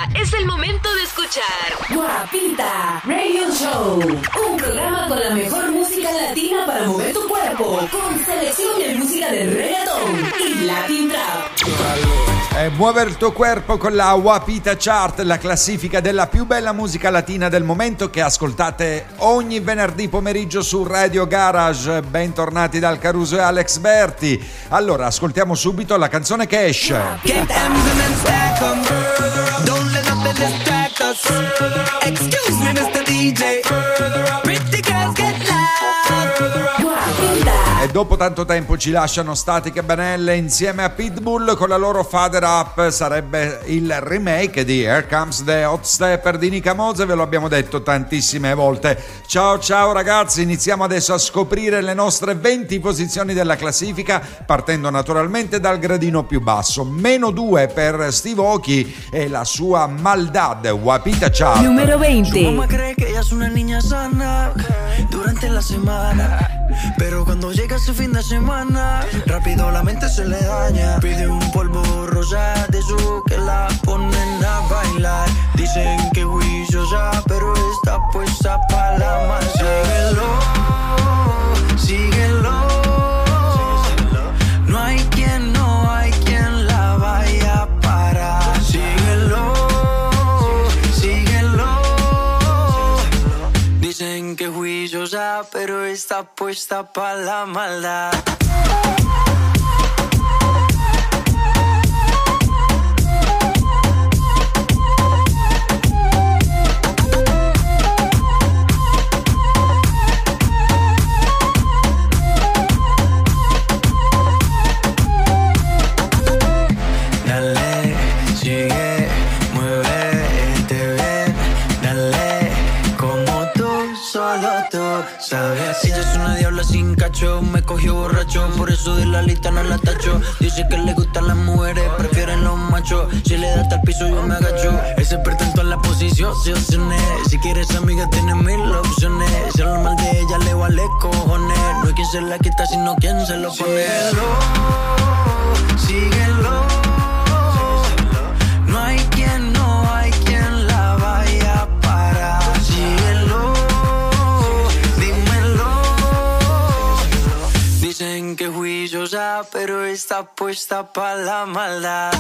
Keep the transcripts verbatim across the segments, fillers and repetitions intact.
es el momento de escuchar Guapita Radio Show, un programa con la mejor música latina para mover tu cuerpo, con selección de música de reggaeton y Latin Trap. E muove il tuo corpo con la Guapita Chart, la classifica della più bella musica latina del momento che ascoltate ogni venerdì pomeriggio su Radio Garage. Bentornati dal Caruso e Alex Berti. Allora, ascoltiamo subito la canzone che esce. Don't let nothing distract us. Excuse me, mister D J. Pretty girls get loud. E dopo tanto tempo ci lasciano Static e Benelle insieme a Pitbull con la loro Father Up. Sarebbe il remake di Here Comes the Hot Stepper di Nika Mose, ve lo abbiamo detto tantissime volte. Ciao ciao ragazzi, iniziamo adesso a scoprire le nostre venti posizioni della classifica, partendo naturalmente dal gradino più basso. Meno due per Steve Aoki e la sua Maldad, Guapita Chart. Numero venti. Su mamá cree que ella es una niña sana durante la semana, pero cuando llega ese fin de semana, rápido la mente se le daña. Pide un polvo rosa de su que la ponen a bailar. Dicen que juiciosa, pero está puesta pa' la maldad. Síguelo, síguelo. No hay quien, no hay quien la vaya a parar. Síguelo, síguelo. Dicen que juiciosa, pero está puesta pa' la maldad. Dale, sigue, muévete bien. Dale, como tú, solo tú sabes. Ella es una diabla sin cacho, me cogió borracho, por eso de la lista no la tacho. Dice que le gustan las mujeres, prefieren los machos. Si le da hasta el piso yo me agacho. Es experta en todas las posiciones. Si quieres amiga tienes mil opciones. Si habla mal de ella le vale cojones. No hay quien se la quita sino quien se lo pone. Síguelo, síguelo. No hay quien, no hay quien la vaya a parar. Síguelo, dímelo. Dicen que juiciosa, pero está puesta pa' la maldad.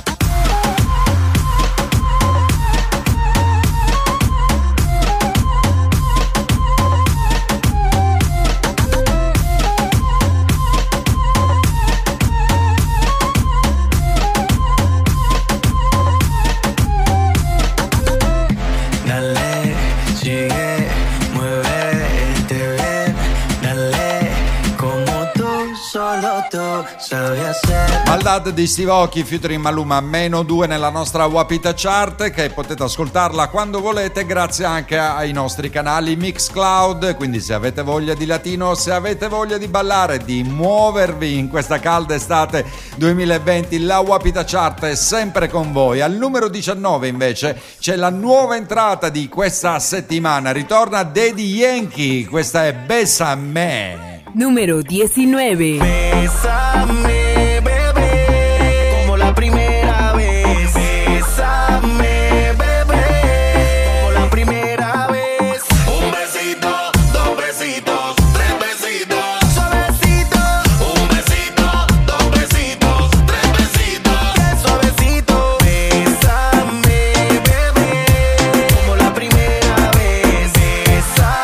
Dale, sigue, muévete bien. Dale, como tú, solo tú sabes hacer. Maldad di Steve Aoki featuring Maluma, meno due nella nostra Guapita Chart, che potete ascoltarla quando volete grazie anche ai nostri canali Mixcloud. Quindi se avete voglia di latino, se avete voglia di ballare, di muovervi in questa calda estate duemilaventi, la Guapita Chart è sempre con voi. Al numero diciannove invece c'è la nuova entrata di questa settimana, ritorna Daddy Yankee, questa è Bésame. Numero diciannove. Bésame, bebé, como la primera vez. Bésame, bebé, como la primera vez. Un besito, dos besitos, tres besitos. Suavecito, Un besito, dos besitos, tres besitos. qué suavecito. Bésame, bebé, como la primera vez.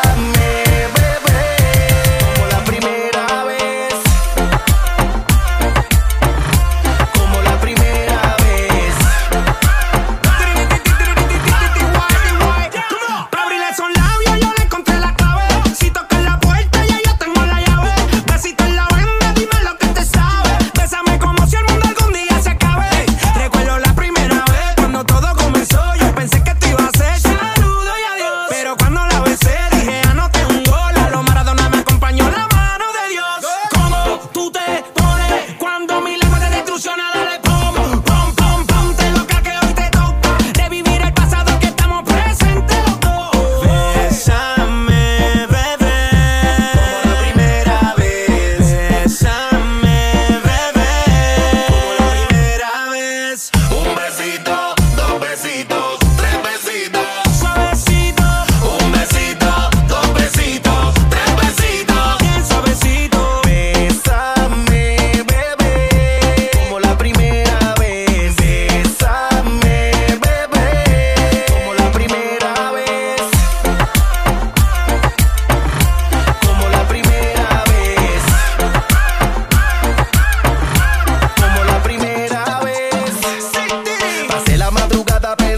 Bésame, bebé, como la primera vez.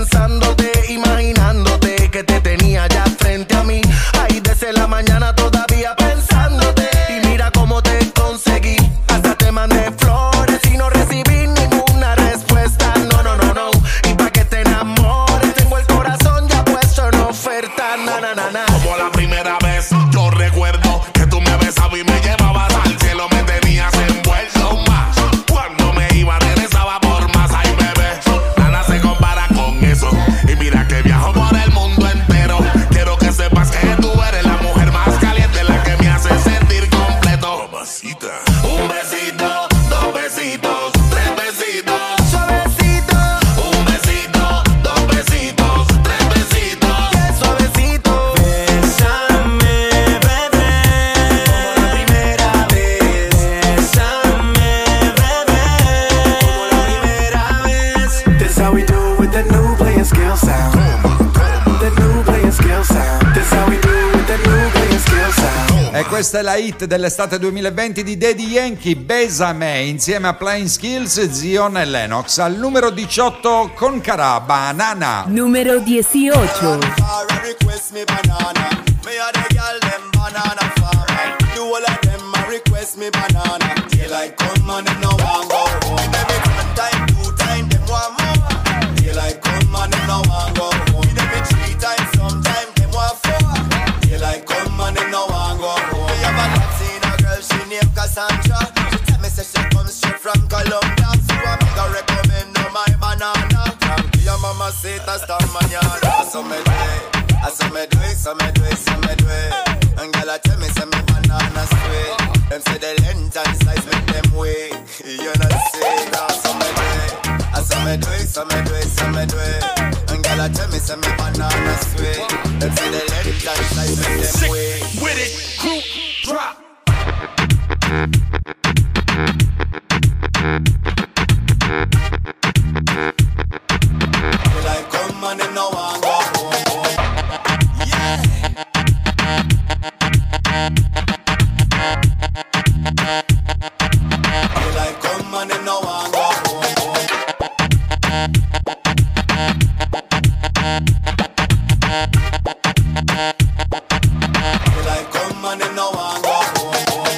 pensándote, imaginándote que te tenía ya frente a mí. Ahí desde la mañana todavía pensándote. Y mira cómo te conseguí. Hasta te mandé flores y no recibí ninguna respuesta. No, no, no, no. Y pa' que te enamores, tengo el corazón ya puesto en oferta. Na, na, na, na. Como la primera vez, yo recuerdo que tú me besabas y me llevabas al cielo, me tenías envuelto más. Cuando me iba, regresaba por más. Ay, bebé, nada se compara con eso. Y mira que viajo por el mundo entero. Quiero que sepas que tú eres la mujer más caliente, la que me hace sentir completo. Mamacita. Un besito, dos besitos, tres besitos. Suavecito. Un besito, dos besitos, tres besitos. Qué suavecito. Bésame, bebé, como la primera vez. Bésame, bebé, como la primera vez. This how we do with the new playing skill sound. The new playing skill sound. This how we do with the new playing skill sound. E questa è la hit dell'estate duemilaventi di Daddy Yankee, Besame, insieme a Playing Skills, Zion e Lennox. Al numero diciotto con Cara, Banana. Número dieciocho. Request me banana. Me a the girl them banana farmer. Do all of them a request me banana. Daylight come and them no want go home. Every one time, two time, them want more. Daylight come and them no want go home. Every three times, sometime them want four. Daylight come and them no want go home. Me have a Latina girl, she named Cassandra. She tell me say she comes straight from Colombia. So I make her recommend her my banana. Tranquila mamacita hasta mañana. So me do it. I saw me do it, so me do it, so me do it. And girl, I tell me, say me banana sweet. Them say the length and size make them weak. You know say, now so me do it. I saw me do it, so me do it, so me do it. And girl, I tell me, say me banana sweet. Them say the length and size make them Sick weak. with it, crew drop. They like come and them no want go home. Yeah. They like come and them no want go home. They like come and them no want go home.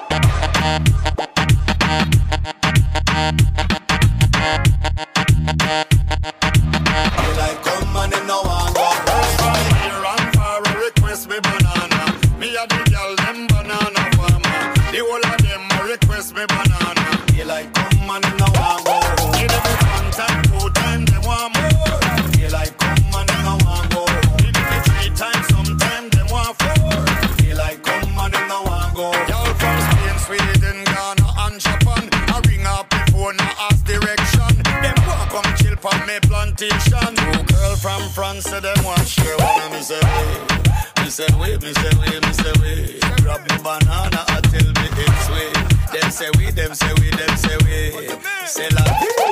They like come and them no want go home. Here and far a request me banana. Me a the girl them banana farmer. The whole of them a request me banana. They like come and them no want go home. Give them one time, two time, they want more. They like come and them no want go home. Give them three times, sometime they want four. They like come and them no want go home. Y'all from Spain, Sweden, Ghana and Japan. I ring up before no ask direction. Them want come chill from me plantation. Two girl from France, say them want share one. And me say wait, me say wait, me say wait, me say wait. Grab me banana until me it's sweet. Them say we, them say we, them say we. Say la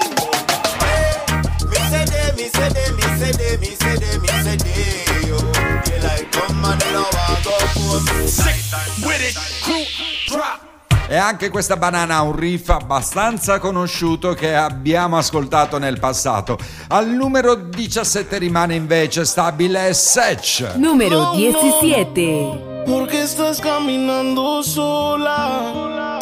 Me say they, me say they, me say they, me say they, me say they, yo. They like come and they no want go home. sick with it, crew drop. E anche questa banana ha un riff abbastanza conosciuto che abbiamo ascoltato nel passato. Al numero diciassette rimane invece stabile Sech. Número diecisiete. Porque estás caminando sola,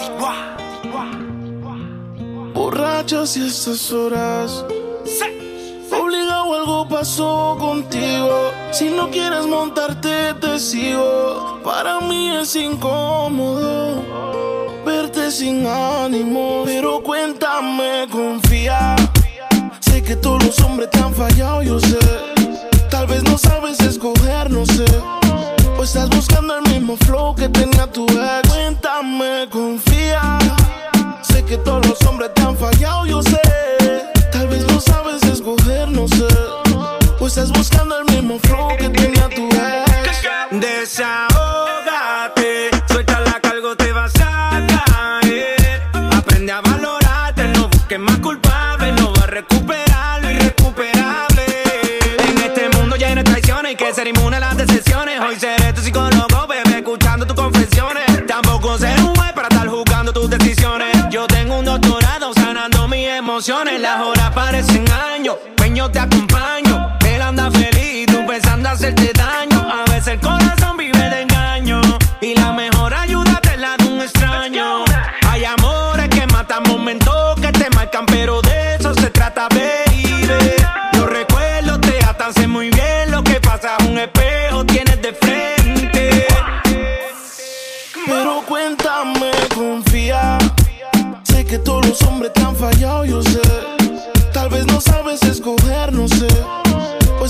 borrachas y estas horas. Obligado, algo pasó contigo. Si no quieres montarte, te sigo. Para mí es incómodo verte sin ánimo, pero cuéntame, confía. Sé que todos los hombres te han fallado, yo sé. Tal vez no sabes escoger, no sé. O estás buscando el mismo flow que tenía tu ex. Cuéntame, confía. Sé que todos los hombres te han fallado, yo sé. Tal vez no sabes escoger, no sé. O estás buscando el mismo flow que tenía tu ex. Desahógate, suelta la cargo, te vas a caer. Aprende a valorarte, no busques más culpable. No vas a recuperar lo irrecuperable. En este mundo lleno de traiciones, hay que ser inmune a las decepciones. Hoy seré tu psicólogo, bebé, escuchando tus confesiones. Tampoco ser un juez para estar juzgando tus decisiones. Yo tengo un doctorado sanando mis emociones. Las horas parecen años, ven yo te acompaño.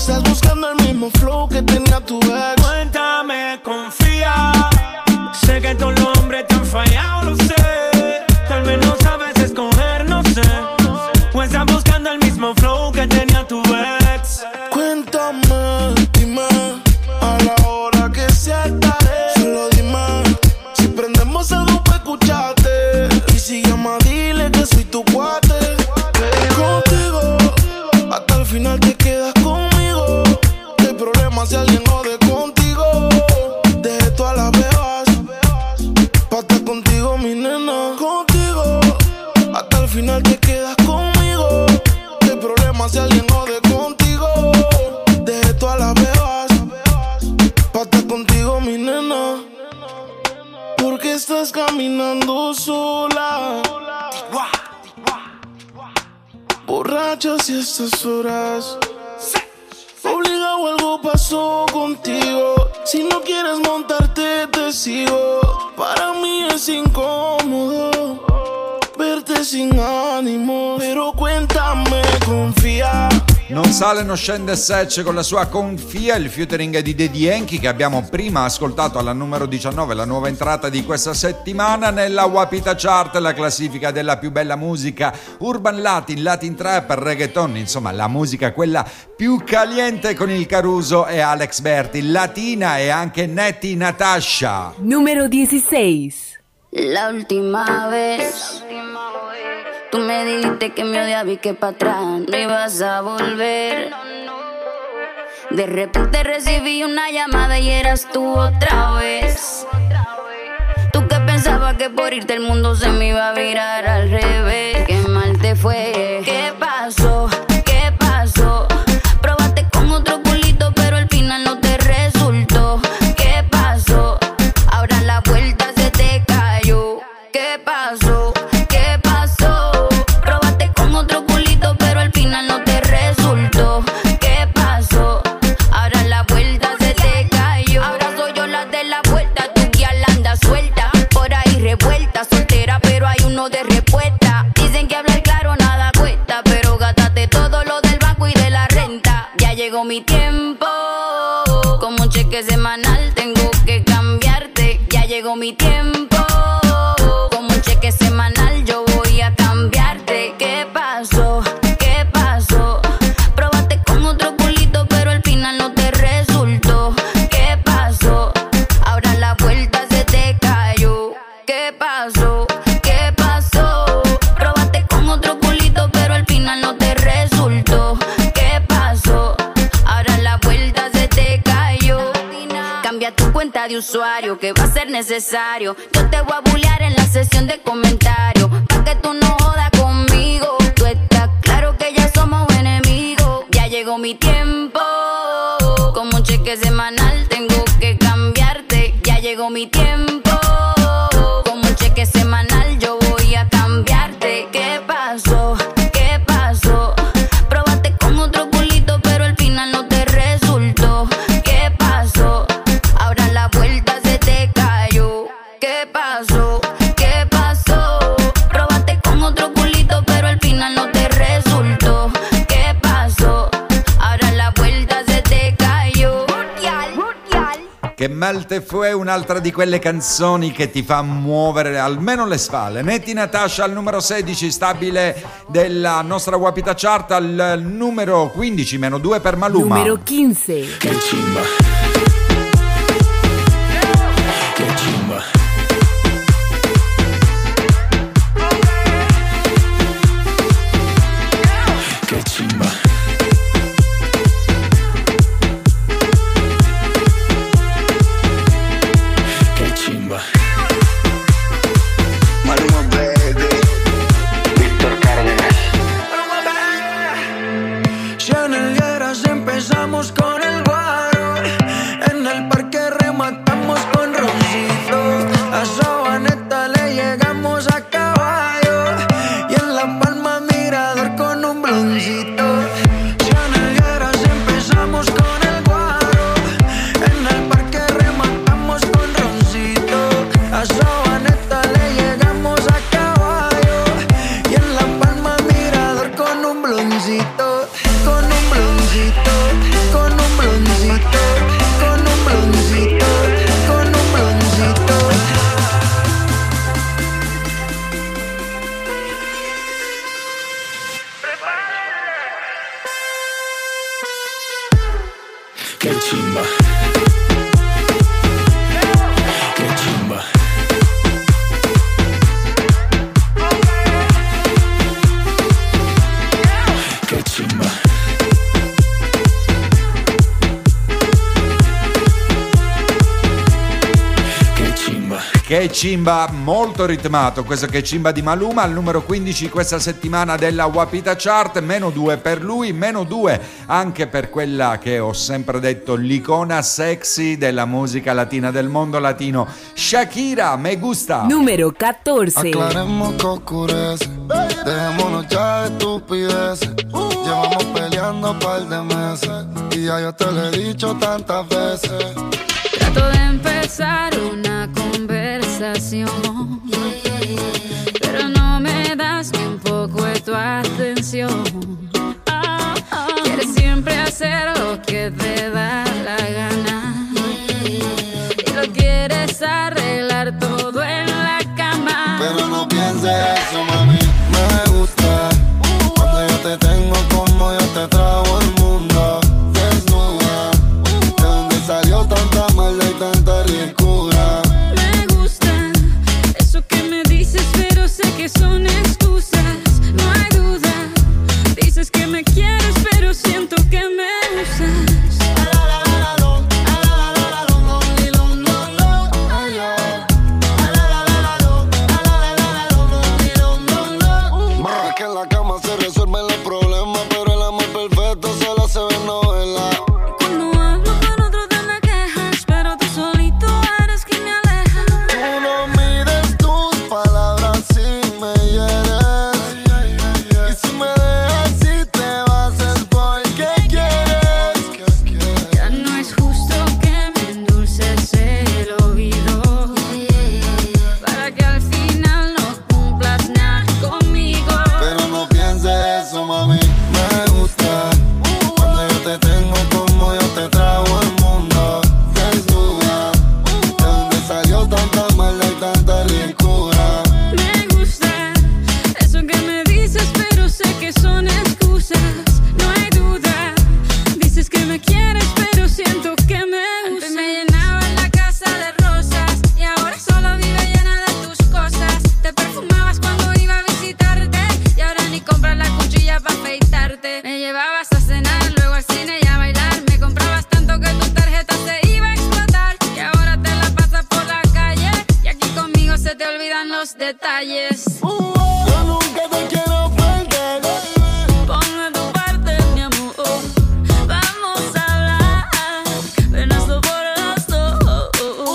estás buscando el mismo flow que tenía tu ex. Cuéntame, confía. Sé que todos los hombres te han fallado, lo sé. Tal vez no sabes escoger, no sé. O estás buscando el mismo flow que tenía tu ex. Cuéntame, dime, a la hora que sea estaré. Solo dime, si prendemos algo pa' escucharte. Y si llama, dile que soy tu cuate. Contigo, hasta el final te quedas conmigo. No hay problema si alguien jode contigo. Dejé todas las bebas pa' estar contigo, mi nena. Contigo, hasta el final te quedas conmigo. No hay problema si alguien jode contigo. Dejé todas las bebas pa' estar contigo, mi nena. ¿Por qué estás caminando sola? Borrachas y estas horas. Obligado, algo pasó contigo. Si no quieres montarte, te sigo. Para mí es incómodo verte sin ánimo. Pero cuéntame, confía. Non sale, non scende Sech con la sua Confia, il featuring di Daddy Yankee che abbiamo prima ascoltato alla numero diciannove, la nuova entrata di questa settimana nella Wapita Chart, la classifica della più bella musica urban latin, latin trap, reggaeton, insomma la musica quella più caliente con il Caruso e Alex Berti, latina e anche Natti Natasha. Número dieciséis. La última vez tú me dijiste que me odiabas y que para atrás no ibas a volver. De repente recibí una llamada y eras tú otra vez. Tú que pensabas que por irte el mundo se me iba a virar al revés. Qué mal te fue. ¿Qué pasó? ¿Qué pasó? Probaste con otro culito pero al final no te resultó. ¿Qué pasó? Ahora la vuelta se te cayó. ¿Qué pasó? ¿Qué pasó? Probaste con otro culito pero al final no te resultó. ¿Qué pasó? Ahora la vuelta se te cayó. Ahora soy yo la de la vuelta. Tu guía la anda suelta, por ahí revuelta, soltera pero hay uno de respuesta. Dicen que hablar claro nada cuesta, pero gátate todo lo del banco y de la renta. Ya llegó mi tiempo, como un cheque semanal tengo que cambiarte. Ya llegó mi tiempo, como un cheque semanal yo voy a cambiarte. ¿Qué pasó? ¿Qué pasó? Probaste con otro culito pero al final no te resultó. ¿Qué pasó? Ahora la vuelta se te cayó. ¿Qué pasó? ¿Qué pasó? Probaste con otro culito pero al final no te resultó. ¿Qué pasó? Ahora la vuelta se te cayó. Cambia tu cuenta de usuario que va a ser necesario. Yo te voy a bullear en la sesión de comentarios pa' que tú no jodas conmigo. Tú estás claro que ya somos enemigos. Ya llegó mi tiempo, como un cheque semanal tengo que cambiarte. Ya llegó mi tiempo, como un cheque semanal yo voy a cambiarte. ¿Qué pasó? ¿Qué pasó? Probaste con otro culito pero al final no te resultó. ¿Qué pasó? Ahora la vuelta se te cayó. ¿Qué pasó? ¿Qué pasó? Probaste con otro culito pero al final no te resultó. ¿Qué pasó? Ahora la vuelta se te cayó. Che mal te fue, un'altra di quelle canzoni che ti fa muovere almeno le spalle. Natti Natasha al numero sedici, stabile della nostra Wapita Chart, al numero quindici, meno due per Maluma. Numero quince. Che chimba. Che chimba. Che chimba. Che chimba. Maluma baby. Víctor Cárdenas. Chanelleras empezamos con el guaro. En el parque rematamos con roncito. A Sabaneta le llegamos a caballo. Y en La Palma mirador con un bloncito. Chanelleras empezamos con el guaro. En el parque rematamos con roncito. A Sabaneta le llegamos a caballo. Y en La Palma mirador con un bloncito. Con un bloncito. Con Qué chimba. Qué chimba. Qué chimba. Che Chimba, molto ritmato, questo Che Chimba di Maluma, al numero quindici questa settimana della Wapita Chart, meno due per lui, meno due anche per quella che ho sempre detto l'icona sexy della musica latina, del mondo latino, Shakira, Me Gusta. Numero catorce. Aclaremos que oscurece, dejémonos ya de estupideces, llevamos peleando un par de meses y ya yo te lo he dicho tantas veces. Trato de empezar una conversación, pero no me das ni un poco de tu atención. Quieres siempre hacer lo que te da la gana y lo quieres arreglar todo en la cama. Pero no pienses eso, mami, me gusta cuando yo te tengo como yo te trago el mundo. Desnuda, de donde salió tanta maldad y tanta ricura. Me gusta eso que me dices, pero sé que son excusas, no hay duda. Dices que me quieres, pero siento que me usas. Es que en la cama se resuelven los problemas, pero el amor perfecto solo se ve en novela. Cuando hablo con otro te me quejas, pero tú solito eres quien me aleja. Tú no mides tus palabras si me hieres, y si me dejas si te vas es porque quieres. Ya no es justo que me endulces el oído para que al final no cumplas nada conmigo. Pero no pienses eso, mami, me gusta cuando yo te tengo como yo te trago el mundo. Desnuda, de donde salió tanta maldad y tanta ricura. Me gusta eso que me dices, pero sé que son excusas, no hay duda. Dices que me quieres, pero siento que me usas. Antes me llenaba la casa de rosas y ahora solo vive llena de tus cosas. Te perfumabas cuando iba a visitarte y ahora ni compras la cuchilla para afeitarte. Me llevabas a cenar, luego al cine y a bailar. Me comprabas tanto que tu tarjeta se iba a explotar y ahora te la pasas por la calle y aquí conmigo se te olvidan los detalles. Yo nunca te quiero perder. Pon de tu parte, mi amor. Vamos a hablar. Ven, hazlo por los dos.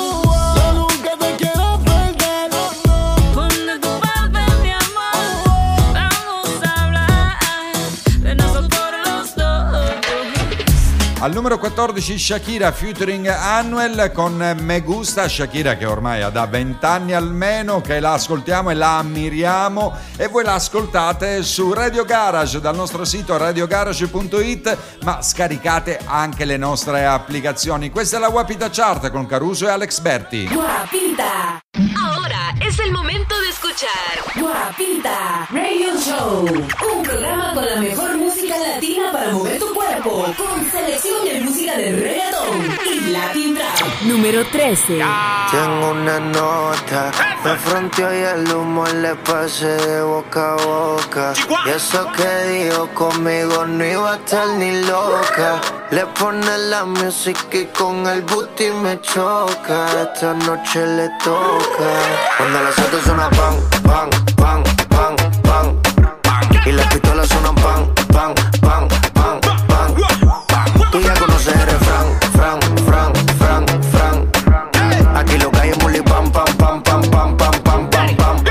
Yo nunca te quiero perder. Pon de tu parte, mi amor. Vamos a hablar. Ven, hazlo por los dos. Al numero quattordici Shakira featuring Anuel con Me Gusta. Shakira che ormai ha da vent'anni almeno che la ascoltiamo e la ammiriamo, e voi la ascoltate su Radio Garage dal nostro sito radio garage punto it, ma scaricate anche le nostre applicazioni. Questa è la Wapita Chart con Caruso e Alex Berti. Guapita, Ahora es el momento de escuchar Guapita Radio Show, un programa con la mejor música latina para mover tu cuerpo, con selección de música de reggaetón y Latin Trap. Número trece. Tengo una nota, me fronteó y el humo le pasé de boca a boca. Y eso que dijo conmigo no iba a estar ni loca. Le pone la música y con el booty me choca. Esta noche le toca. Cuando las autos suenan pan, pan, pan, pan, pan, y las pistolas suenan pan, pan, pan, pan, pan. Tú ya conoces el refrán, fran, fran, fran, fran. Aquí lo que hay es muli pam, pam, pam, pam, pam, pam, pam, pam, pam.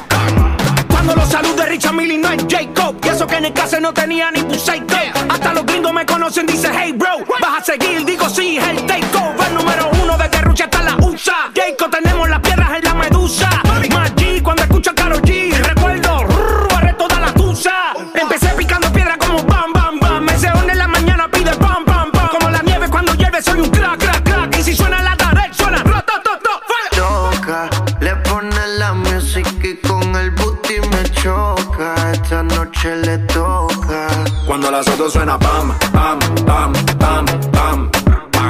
Cuando los saludos de Richard Mille no es Jacob, y eso que en el caso no tenía ni un psycho. Hasta los gringos me conocen, dice hey bro. Vas a seguir, digo sí, es el takeover número uno de Guerrucha hasta la U S A. Jacob, tenemos las piedras en la medusa. Más G cuando escucho a Karol G. Recuerdo, rrr, barré toda la tusa. Empecé picando piedra como bam, bam, bam. Me se en la mañana pide bam, bam, bam. Como la nieve cuando llueve soy un crack, crack, crack. Y si suena la tarek, suena rotototo. Choca, le pone la música y con el booty me choca. Esta noche le toca. Cuando las autos suena pam, pam, pam, pam, pam, pam.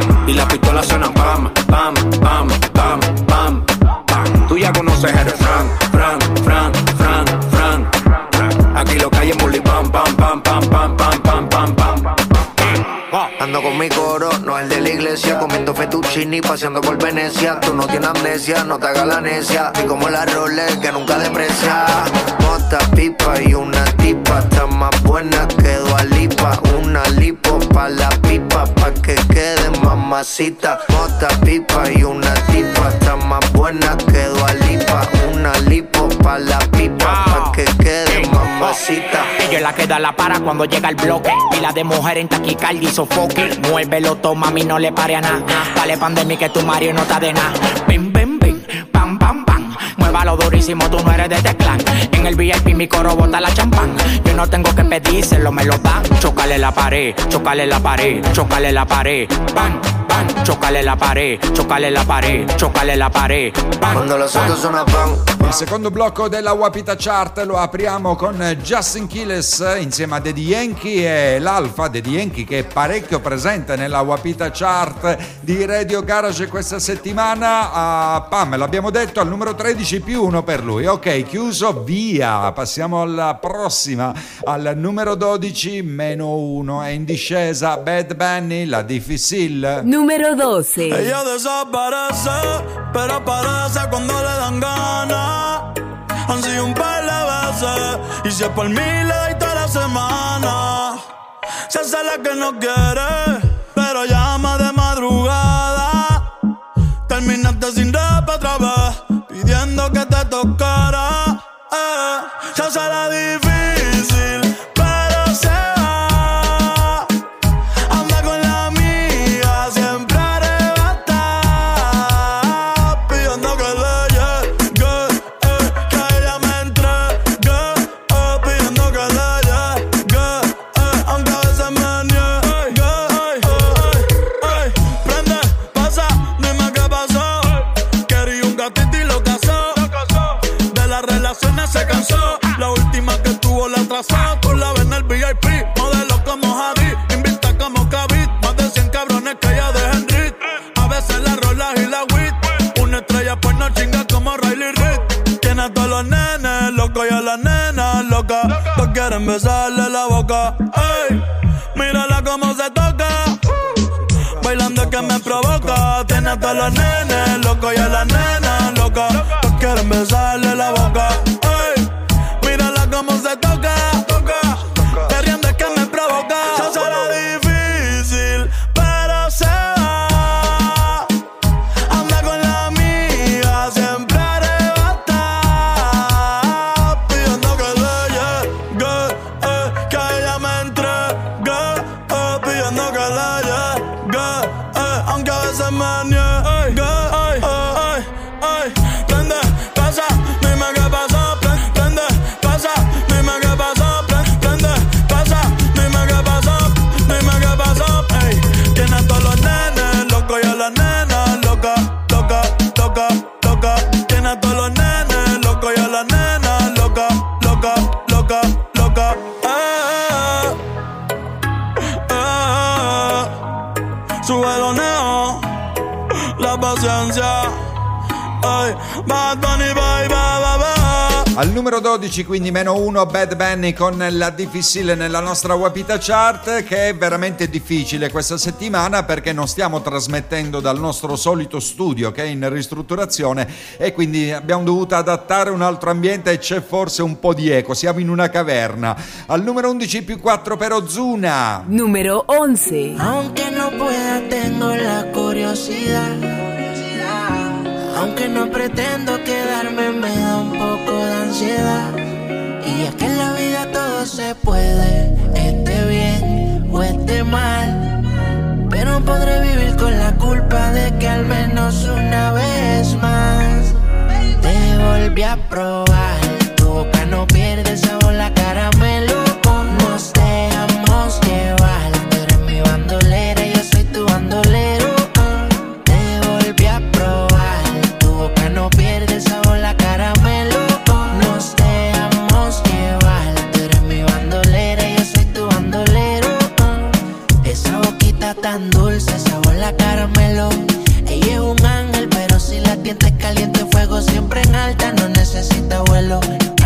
Ando con mi coro, no el de la iglesia, comiendo fettuccini, paseando por Venecia. Tú no tienes amnesia, no te hagas la necia, y como la Rolex que nunca deprecia. Mota, pipa y una tipa, está más buena que Dua Lipa. Una lipo pa' la pipa, pa' que quede mamacita. Mota, pipa y una tipa, está más buena que Dua Lipa. Una lipo pa' la pipa, pa' que quede mamacita. Ella es la que da la para cuando llega el bloque. Pila de mujer en taquicardia y sofoque. Muévelo, toma, mami, no le pare a nada. Dale pandemia que tu Mario no está de nada. Bim, bim, bim, pam, pam, pam. Muévalo durísimo, tú no eres de este clan. En el V I P mi coro bota la champán. Yo no tengo que pedírselo, me lo dan. Chócale la pared, chócale la pared, chócale la pared. Bam, bam, chócale la pared, chócale la pared, chócale la pared. Bam, cuando los otros sono pan. Il secondo blocco della Wapita Chart lo apriamo con Justin Quiles insieme a Daddy Yankee e l'Alfa Daddy Yankee, che è parecchio presente nella Wapita Chart di Radio Garage questa settimana. Uh, Pam, l'abbiamo detto, al numero tredici più uno per lui. Ok, chiuso, via. Passiamo alla prossima, al numero dodici meno uno. È in discesa Bad Bunny, La Difícil. Numero doce. Ella desaparece, pero aparece cuando le dan ganas. Han sido un par de veces, y si es por mí le doy toda la semana. Se hace la que no quiere, pero llama de madrugada. Terminaste sin rap otra vez, pidiendo que te tocara. Eh, se hace la difícil, pero se va. Anda con la amiga, siempre arrebata, pidiendo que le llegue, eh, que ella me entregue, eh, pidiendo que le llegue, eh, aunque a veces me niegue. Ey, ey, ey, prende, pasa, dime qué pasó. Quería un gatito y lo casó. De las relaciones se cansó. La última que tuvo la atrasó. Tú la ves en el V I P, modelo como Javi, invita como Kavit. Más de cien cabrones que ella deja en Rit. A veces la rola y la wit. Una estrella pues no chinga como Riley Reid. Tiene a todos los nenes locos y a las nenas locas. Todos quieren besarle la boca. Ey, mírala cómo se toca. Bailando es que me provoca. Tiene a todos los nenes locos y a las nenas locas. Todos quieren besarle la boca. Ey, mírala cómo se toca. Perreando es que me provoca. Se hace la difícil, pero se va. Anda con la amiga, siempre arrebata, pidiendo que le llegue, eh, que ella me entregue, eh, pidiendo que le llegue, eh, aunque a veces me niegue. Ey, ey, ey, prende, pasa, dime qué pasó. Prende, pasa, dime qué pasó. Prende, pasa, dime qué pasó. Dime qué pasó. Ey, tiene a todos los nenes locos y a las nenas locas, loca, loca, loca. Tiene a todos los nenes locos y a las nenas locas, loca, loca, loca. Eh, eh, eh. Sube los neos, la paciencia. Ay, Bad Bunny, bye, bye, bye, bye. Al numero dodici, quindi meno uno, Bad Bunny con La Difficile nella nostra Wapita Chart, che è veramente difficile questa settimana perché non stiamo trasmettendo dal nostro solito studio che è in ristrutturazione e quindi abbiamo dovuto adattare un altro ambiente e c'è forse un po' di eco, siamo in una caverna. Al numero undici più quattro per Ozuna. Numero once. Aunque no pueda, tengo la curiosidad. Aunque no pretendo quedarme, me da un poco de ansiedad. Y es que en la vida todo se puede, esté bien o esté mal. Pero podré vivir con la culpa de que al menos una vez más te volví a probar. Tu boca no pierde sabor, la caramelo. Nos dejamos llevar. Tú eres mi bandolera, yo soy tu bandolero. Te volví a probar. Tu boca no pierde sabor, la caramelo. Nos dejamos llevar. Tú eres mi bandolera, yo soy tu bandolero. Esa boquita tan dulce, sabor la caramelo. Ella es un ángel, pero si la tienta es caliente, fuego siempre en alta, no necesita vuelo.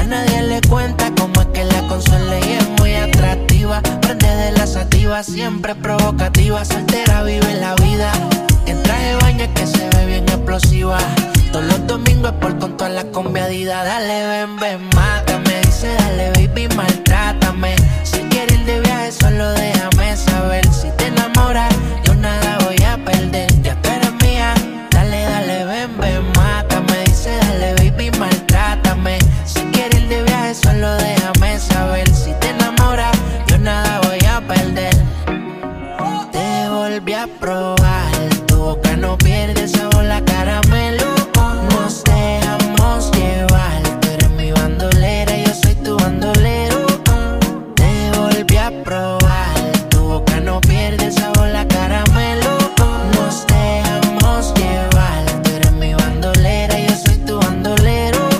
nadie le cuenta cómo es que la consuela y es muy atractiva. Prende de la sativa, siempre provocativa. Soltera vive la vida, en traje de baño es que se ve bien explosiva. Todos los domingos es por con todas las combiadidas. Dale, ven, ven, mátame. Dice, dale, baby, maltrátame. Si quieres ir de viaje, solo déjame saber. Si te enamoras, yo nada voy a perder. Ya tú eres mía. Dale, dale, ven, ven, mátame. Dice, dale, baby, maltrátame. Si quieres ir de viaje, solo déjame saber. Si te enamoras, yo nada voy a perder. Te volví a probar. Tu boca no pierde sabor, la caramelo. Nos dejamos llevar. Tú eres mi bandolera, yo soy tu bandolero. Te volví a probar. Tu boca no pierde sabor, la caramelo. Nos dejamos llevar. Tú eres mi bandolera, yo soy tu bandolero.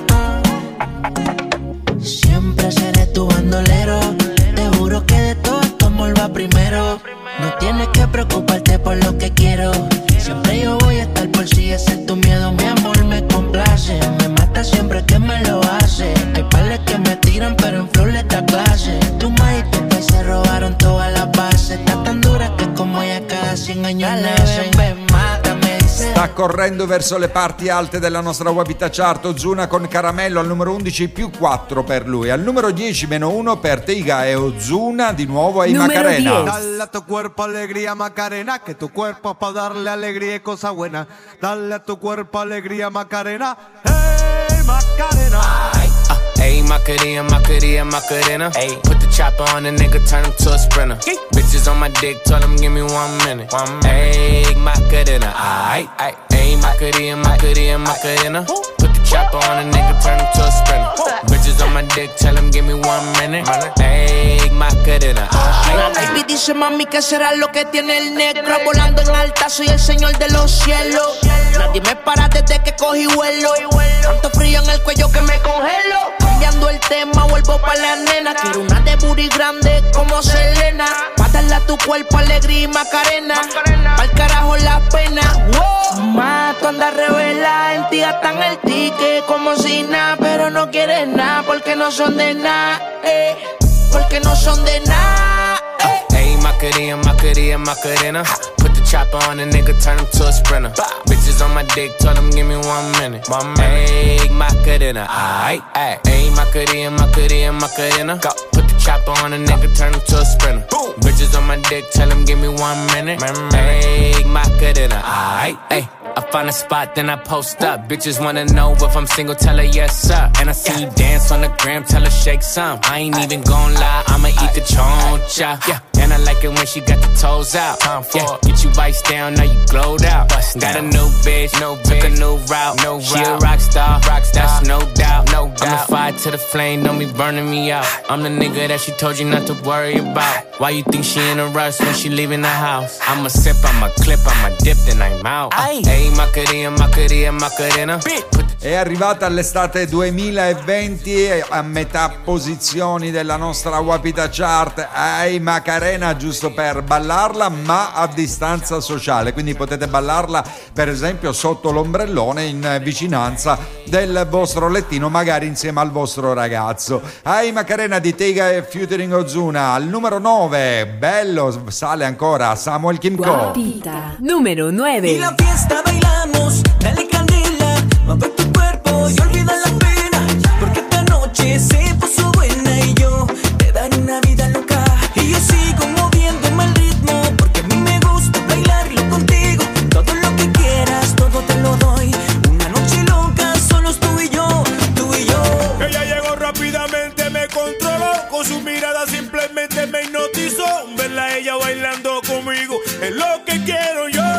Siempre seré tu bandolero. Te juro que de todo esto amor va primero. No tienes que preocuparte por lo que quiero. Siempre yo voy a estar por si ese es tu miedo. Mi amor me complace. Me mata siempre que me lo hace. Hay pales que me tiran pero en flow le da clase. Tu ma y tu país se robaron todas las bases. Está tan dura que como ella cada cien años nace. Ven, mátame. Sta correndo verso le parti alte della nostra Wapita Chart. Ozuna con Caramello al numero undici, più quattro per lui. Al numero dieci, meno uno per Teiga e Ozuna. Di nuovo ai Macarena. Dale a tu cuerpo alegría, Macarena, que tu cuerpo es para darle alegría y cosas buenas. Dale a tu cuerpo alegría, Macarena. Hey, Macarena. Ay, uh, hey, Macarena, Macarena, Macarena. Hey, put the chopper on the nigga, turn him to a sprinter. Hey. Bitches on my dick, tell him give me one minute. One minute. Hey, Macarena. Ay, ay, hey, Macarena, Macarena, Macarena. Put the chopper on the nigga, turn him to a sprinter. Bitches on my dick, tell him give me one minute. Hey, Macarena. La baby dice mami que será lo que tiene el negro. Volando en alta, soy el señor de los cielos. Nadie me para desde que cogí vuelo. Tanto frío en el cuello que me congelo. Cambiando el tema, vuelvo pa' la nena. Quiero una de booty grande como Selena. Pa' darle a tu cuerpo alegría y Macarena. Pa'l carajo la pena. Wow. Ma, tú andas revela, en ti gastan el ticket como si nada. Pero no quieres nada porque no son de nada, eh. Porque no son de nada. Uh, hey, Macarena, Macarena, Macarena. Put the chopper on a nigga, turn him to a sprinter. Bitches on my dick, tell him give me one minute. One minute. Hey, Macarena. Aight, ayy. Hey, Macarena, Macarena, Macarena. Go. Put the chopper on a nigga, turn him to a sprinter. Boom. Bitches on my dick, tell him give me one minute. Hey, Macarena. Aight, ayy. I find a spot, then I post up. Bitches wanna know if I'm single, tell her yes, sir. And I see you dance on the gram, tell her shake some. I ain't even gon' lie, I'ma eat the choncha. Yeah, and I like it when she got the toes out. Yeah, get you vice down, now you glowed out. Got a new bitch, no took a new route. No she a rock star, rock star, that's no doubt. No doubt. I'm the fire to the flame, don't be burning me out. I'm the nigga that she told you not to worry about. Why you think she in a rush when she leaving the house? I'ma sip, I'ma clip, I'ma dip, then I'm out. Uh, hey, Macarena, Macarena, Macarena. È arrivata all'estate duemilaventi a metà posizioni della nostra Wapita Chart. Ai Macarena, giusto per ballarla ma a distanza sociale, quindi potete ballarla per esempio sotto l'ombrellone in vicinanza del vostro lettino, magari insieme al vostro ragazzo. Ai Macarena di Teiga e featuring Ozuna. Al numero nove, bello, sale ancora Samuel Kimco. Wapita numero nove. Y la fiesta bailamos, dale candela, mueve tu cuerpo y olvida la pena, porque esta noche se puso buena y yo te daré una vida loca. Y yo sigo moviéndome al ritmo, porque a mí me gusta bailarlo contigo. Todo lo que quieras, todo te lo doy. Una noche loca, solo es tú y yo, tú y yo. Ella llegó rápidamente, me controló, con su mirada simplemente me hipnotizó. Verla a ella bailando conmigo es lo que quiero yo.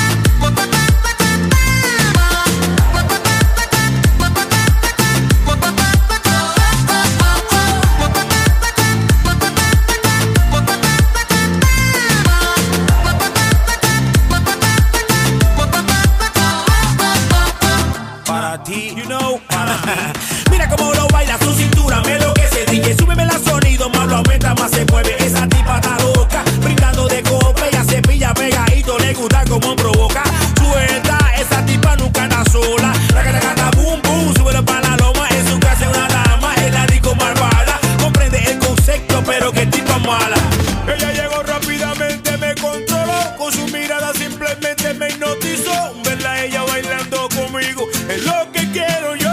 Bye. Mira cómo lo baila, su cintura me enloquece. D J, súbeme el sonido, más lo aumenta, más se mueve. Esa tipa está loca, brindando de copa. Ella se pilla pegadito, le gusta como provoca. Suelta, esa tipa nunca anda sola. La que canta boom boom, súbelo para la loma. En su casa es una dama, es la disco malvada. Comprende el concepto, pero que tipa mala. Ella llegó rápidamente, me controló. Con su mirada simplemente me hipnotizó. Verla a ella bailando conmigo es lo che quiero io.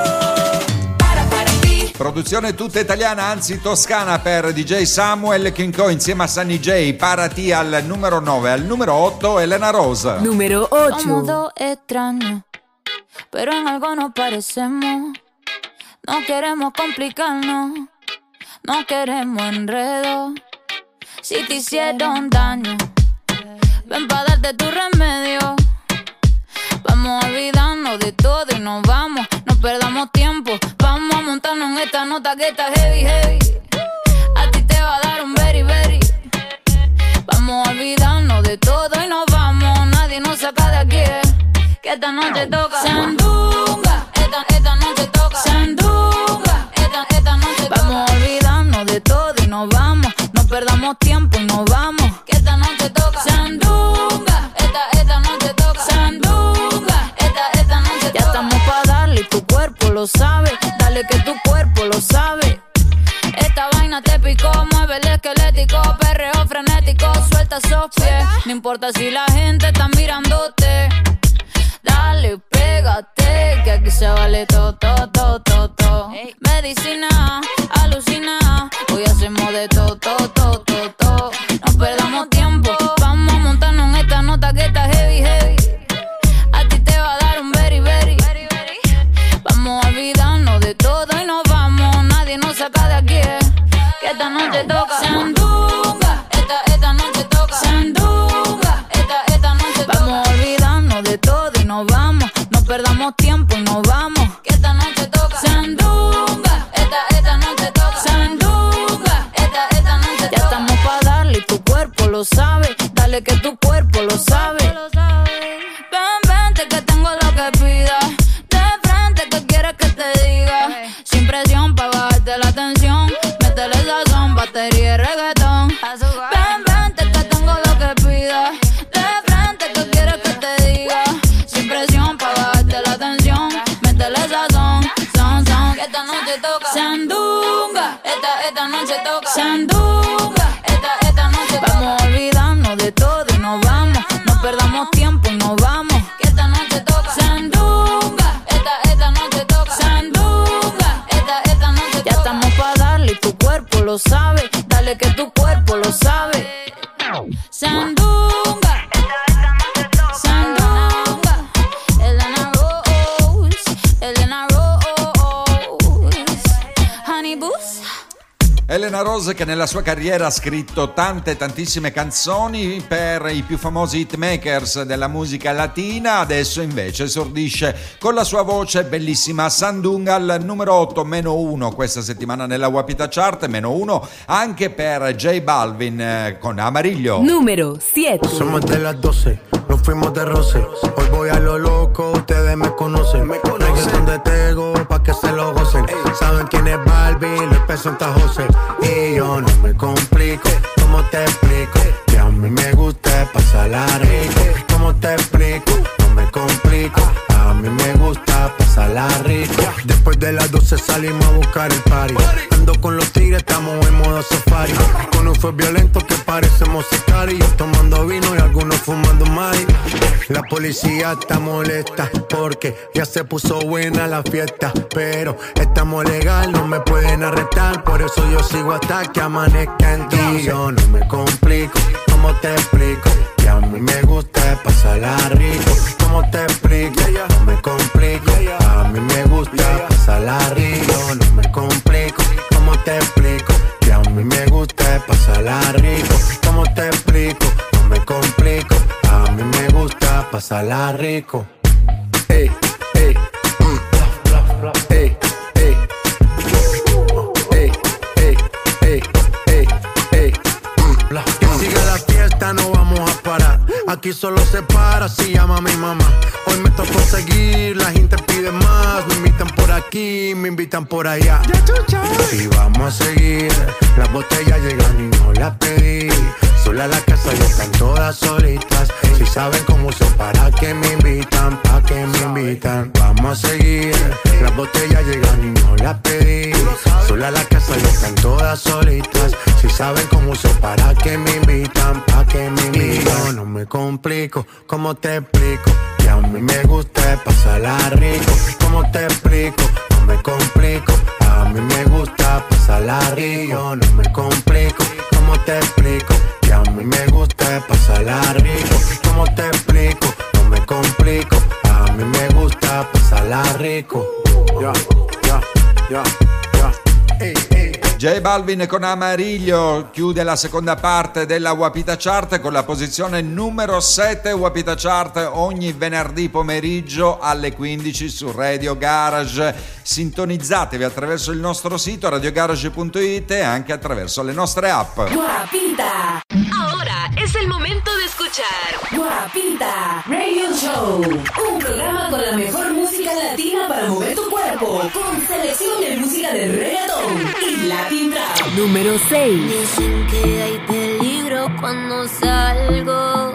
Produzione tutta italiana, anzi toscana, per D J Samuel Kinko insieme a Sunny J. Parati al numero nove. Al numero otto, Elena Rose. Numero ocho. Somos dos extraños, pero en algo nos parecemos. No queremos complicarnos, no queremos enredo. Si te hicieron daño, ven pa' darte tu remedio. Vamos a olvidarnos de todo y nos vamos. No perdamos tiempo, vamos a montarnos en esta nota que está heavy, heavy. A ti te va a dar un very, very. Vamos a olvidarnos de todo y nos vamos. Nadie nos saca de aquí, que esta noche toca Sandunga. Esta, esta noche toca Sandunga. Esta, esta noche toca. Vamos a olvidarnos de todo y nos vamos. No perdamos tiempo y nos vamos. Que esta noche toca Sandunga. Esta, esta noche toca Sandunga. Esta, esta noche toca. Ya estamos pa' darle y tu cuerpo lo sabe. Dale que tu cuerpo lo sabe. Esta vaina te picó, mueve el esquelético. Perreo frenético, suelta esos pies. No importa si la gente está mirándote. Dale, pégate, que aquí se vale todo, todo, todo, todo, todo. Medicina, alucina, hoy hacemos de todo, todo, todo, todo, todo. No perdamos tiempo, vamos a montarnos en esta nota que está heavy, heavy. A ti te va a dar un very, very. Vamos a olvidarnos de todo y nos vamos. Nadie nos saca de aquí, que esta noche toca Sandunga. Esta, esta noche toca Sandunga. Esta, esta noche toca. Vamos a olvidarnos de todo y nos vamos. No perdamos tiempo y nos vamos. Que esta noche toca Sandunga. Esta, esta noche toca Sandunga. Esta, esta noche toca. Ya estamos pa' darle y tu cuerpo lo sabe. Dale que tu cuerpo lo sabe. Ven, vente que tengo lo que pidas. De frente que quieres que te diga. Sin presión pa' bajarte la tensión. Métele sazón, batería y reggaetón. Ven, vente que tengo lo que pidas. De frente que quieres que te diga. Sin presión pa' bajarte la tensión. Métele sazón, son, son. Que esta noche toca Sandunga. Esta, esta noche toca Sandunga. Esta, esta noche toca. Vamos a olvidarnos de todo y nos vamos. No perdamos tiempo y nos vamos. Que esta noche toca Sandunga. Esta, esta noche toca Sandunga. Esta, esta noche toca. Ya estamos pa' darle y tu cuerpo lo sabe. Dale que tu cuerpo lo sabe. Sandunga. Sandunga. Elena Rose. Elena Rose. Honey Boost. Elena Rose, che nella sua carriera ha scritto tante tantissime canzoni per i più famosi hitmakers della musica latina, adesso invece esordisce con la sua voce bellissima Sandunga al numero otto, meno uno questa settimana nella Wapita Chart, meno uno anche per J Balvin eh, con Amarillo. Numero siete. Somos de las doce, nos fuimos de roce. Hoy voy a lo loco, ustedes me conocen. Me conocen de Tego pa' que se lo gocen. Saben quién es Balvin, les presenta José. Y yo no me complico, ¿cómo te explico? Que a mí me gusta pasarla rico. ¿Cómo te explico? No me complico, a mí me gusta pasarla rico. Después de las doce salimos a buscar el party. Ando con los tigres, estamos en modo safari. Con un fue violento que parecemos sicarios. Tomando vino y algunos fumando mari. La policía está molesta porque ya se puso buena la fiesta. Pero estamos legal, no me pueden arrestar. Por eso yo sigo hasta que amanezca en ti. Yo no me complico, ¿cómo te explico? Que a mí me gusta pasarla rico. ¿Cómo te explico? No me complico, a mí me gusta pasarla rico. No me complico, ¿cómo te explico? Que a mí me gusta pasarla rico. ¿Cómo te explico? No me complico, a mí me gusta pasarla rico. Ey, ey, mm. Ey, ey. Ey, ey, ey, ey, ey. Que siga la fiesta, no vamos a parar. Aquí solo se para si llama mi mamá. Hoy me tocó seguir, la gente pide más. Me invitan por aquí aquí, me invitan por allá. Y vamos a seguir. Las botellas llegan y no las pedí. Sola la casa y están todas solitas. Si saben cómo uso, para que me invitan, pa' que me invitan. Vamos a seguir. Las botellas llegan y no las pedí. Sola la casa y están todas solitas. Si saben cómo uso, para que me invitan, pa' que me invitan. Yo no me complico, ¿cómo te explico? Que a mí me gusta pasarla rico. ¿Cómo te explico? No me complico. A mí me gusta pasarla rico. Yo no me complico, ¿cómo te explico? Que a mí me gusta pasarla rico. ¿Cómo te explico? No me complico. A mí me gusta pasarla rico. Ya, ya, ya, ya. Ey, ey. J Balvin con Amarillo chiude la seconda parte della Wapita Chart con la posizione numero sette. Wapita Chart ogni venerdì pomeriggio alle quindici su Radio Garage. Sintonizzatevi attraverso il nostro sito radio garage punto it e anche attraverso le nostre app. Guapita. Ahora es el momento de escuchar Guapita Radio Show, un programa con la mejor música latina para mover tu cuerpo, con selección de música de reggaetón y Latin Trap. Número seis. Dicen que hay peligro cuando salgo,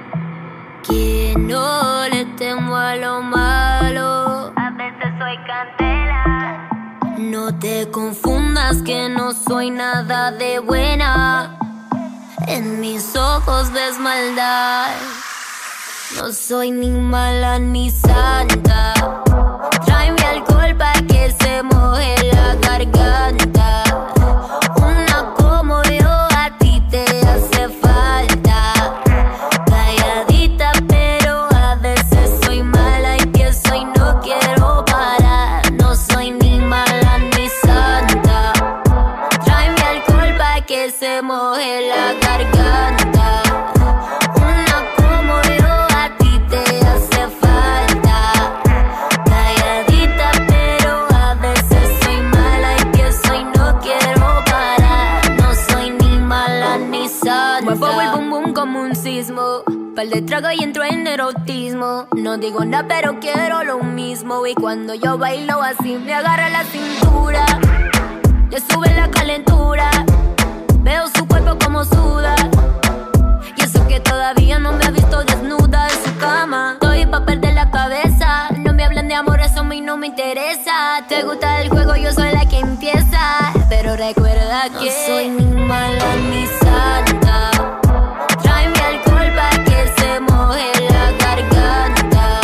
que no le temo a lo malo. A veces soy candela. No te confundas que no soy nada de buena. En mis ojos ves maldad. No soy ni mala ni santa. Tráeme alcohol pa' que se moje la garganta. Una como yo a ti te hace falta. Calladita pero a veces soy mala. Empiezo y no quiero parar. No soy ni mala ni santa. Tráeme alcohol pa' que se moje la garganta. Una como yo a ti te hace falta. Calladita pero a veces soy mala. Empiezo y no quiero parar. No soy ni mala ni santa. Muevo el bum bum como un sismo. Pal de trago y entro en erotismo. No digo nada pero quiero lo mismo. Y cuando yo bailo así me agarra la cintura. Le sube la calentura. Veo su cuerpo como suda. Y eso que todavía no me ha visto desnuda en su cama. Estoy pa' perder la cabeza. No me hablen de amor, eso a mí no me interesa. Te gusta el juego, yo soy la que empieza. Pero recuerda que no soy ni mala ni santa. Tráeme alcohol pa' que se moje la garganta.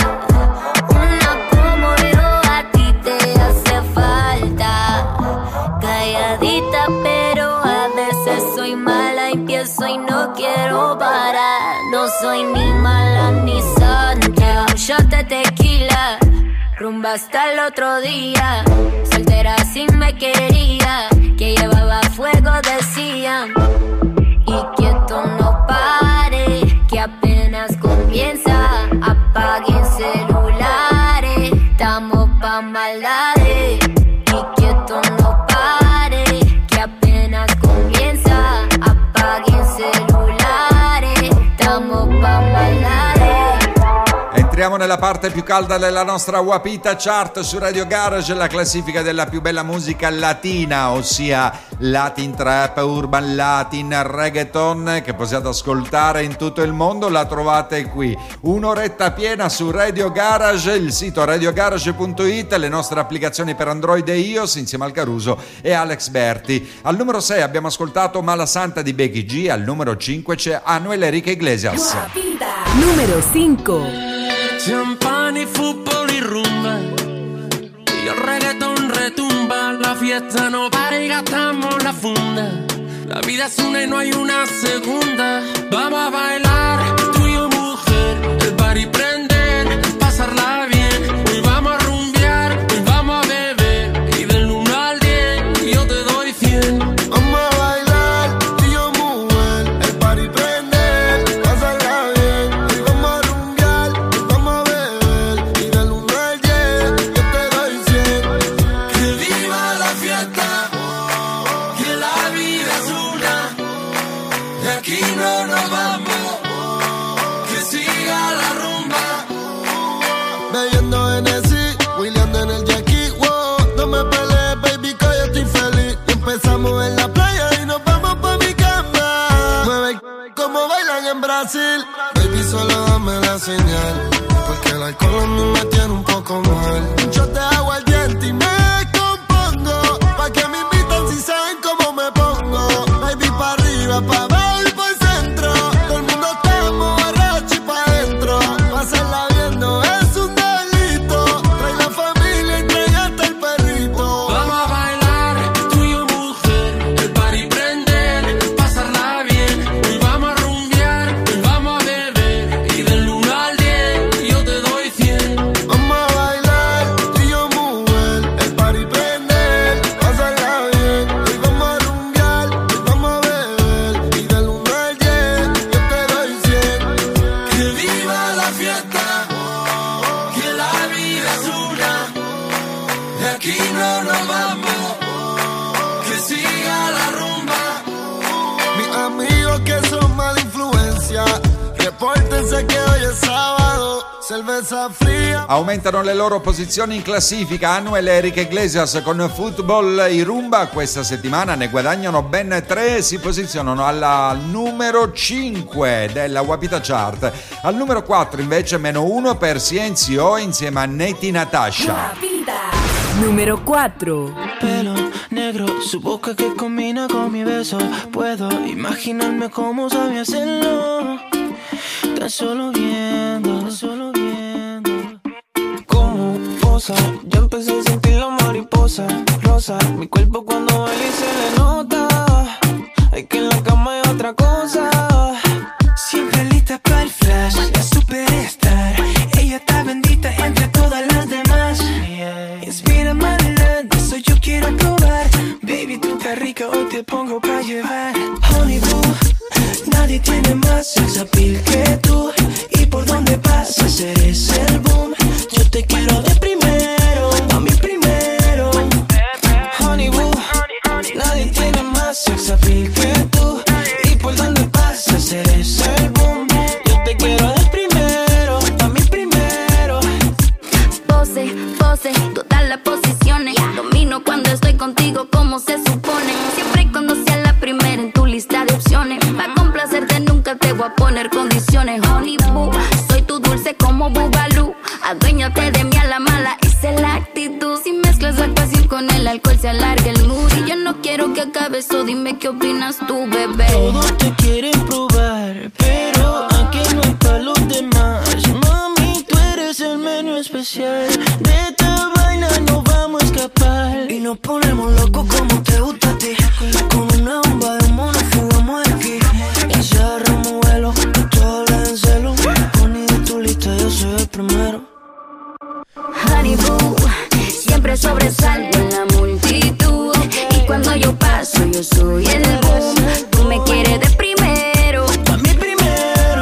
Una como yo a ti te hace falta. Calladita pero a veces soy mala. Empiezo y no quiero parar. No soy ni mala ni santa. Un shot de tequila, rumba hasta el otro día. Soltera así me quería, que llevaba fuego decían. Y quieto no pare, que apenas comienza. Apaguen celulares, estamos pa' maldades. Y quieto no pare, que apenas comienza. Apaguen celulares, estamos pa' maldades. Entriamo nella parte più calda della nostra Wapita Chart su Radio Garage, la classifica della più bella musica latina, ossia Latin Trap, Urban Latin, Reggaeton, che possiate ascoltare in tutto il mondo. La trovate qui, un'oretta piena su Radio Garage, il sito radio garage punto it, le nostre applicazioni per Android e iOS insieme al Caruso e Alex Berti. Al numero sei abbiamo ascoltato Mala Santa di Becky G, al numero cinque c'è Anuel Enrique Iglesias. Número cinco. Champán y fútbol y rumba, y el reggaetón retumba. La fiesta no para y gastamos la funda. La vida es una y no hay una segunda. Vamos a bailar, tú y yo mujer. El party prender, pasarla bien. Hoy vamos a rumbear, hoy vamos a beber. Y del uno al diez yo te doy cien. Vamos a bailar, tú y yo mujer. El party prender, pasarla bien. Hoy vamos a rumbear, hoy vamos a beber. Y del uno al diez yo te doy cien. Que viva la fiesta, que la vida es una. De aquí no nos vamos, que siga la rumba. Baby, solo dame la señal, porque el alcohol a mí me tiene un poco mal. Yo te hago el diente y me compongo, pa' que me invitan si saben cómo me pongo. Baby, pa' arriba, pa' abajo y pa' el centro. Todo el mundo estamos borracho y pa' adentro. Pasarla viendo es un delito. Trae la familia y trae hasta el perrito. Vamos a bailar, tú y yo mujer, el party prender, pasarla bien. Hoy vamos a rumbear, hoy vamos a beber, y del uno al diez yo te doy cien. Vamos a bailar, tú y yo mujer, el party prender, pasarla bien. Hoy vamos a rumbear, hoy vamos a beber, y del uno al diez yo te doy cien. Que viva la fiesta, que la vida es una, de aquí no nos vamos, que siga la rumba. Mis amigos que son mala influencia, repórtense que hoy es sábado, cerveza fría. Aumentano le loro posizioni in classifica. Anuel e Enrique Iglesias con Football e Rumba questa settimana ne guadagnano ben tre, si posizionano alla numero cinque della Wapita Chart. Al numero quattro invece meno uno per Cienzio insieme a Neti Natasha. Número cuatro. Pelo negro, su boca que combina con mi beso. Puedo imaginarme cómo sabe hacerlo. Tan solo viendo, tan solo viendo cómo posa. Ya empecé a sentir la mariposa rosa. Mi cuerpo cuando baila y se le nota. Hay que en la cama hay otra cosa. Siempre lista para el flash, la superstar. Ella está bendita entre todas las demás. Inspira adelante, eso yo quiero probar. Baby, tú estás rica, hoy te pongo pa' llevar. Honey boo, nadie tiene más sex appeal que tú. Y por donde pasas eres el boom. Yo te quiero de primero, a mí primero. Honey boo, nadie tiene más sex appeal que tú. Y por donde pasas eres el boom. Yo te quiero de primero, a mí primero. Pose, pose, todas las posiciones. Domino cuando estoy contigo como se supone. Siempre y cuando sea la primera en tu lista de opciones. Para complacerte nunca te voy a poner condiciones. Honey boo, soy tu dulce como Bubalú. Aduéñate de mí a la mala, esa es la actitud. Si mezclas la pasión con el alcohol se alarga el mood. Y yo no quiero que acabe eso, dime qué opinas tú, bebé. Todos te quieren probar, pero aquí no hay pa' los demás. Mami, tú eres el menú especial. De esta vaina no vamos a escapar. Y nos ponemos locos como te gusta a ti. Con una bomba de humo nos fugamos de aquí. Y si agarramos vuelo, tú te hablas en celo. Poni de tu lista, yo soy el primero. Honey boo, siempre sobresalgo en la multitud. Y cuando yo paso, yo soy el boom. Tú me quieres de primero, a mí primero.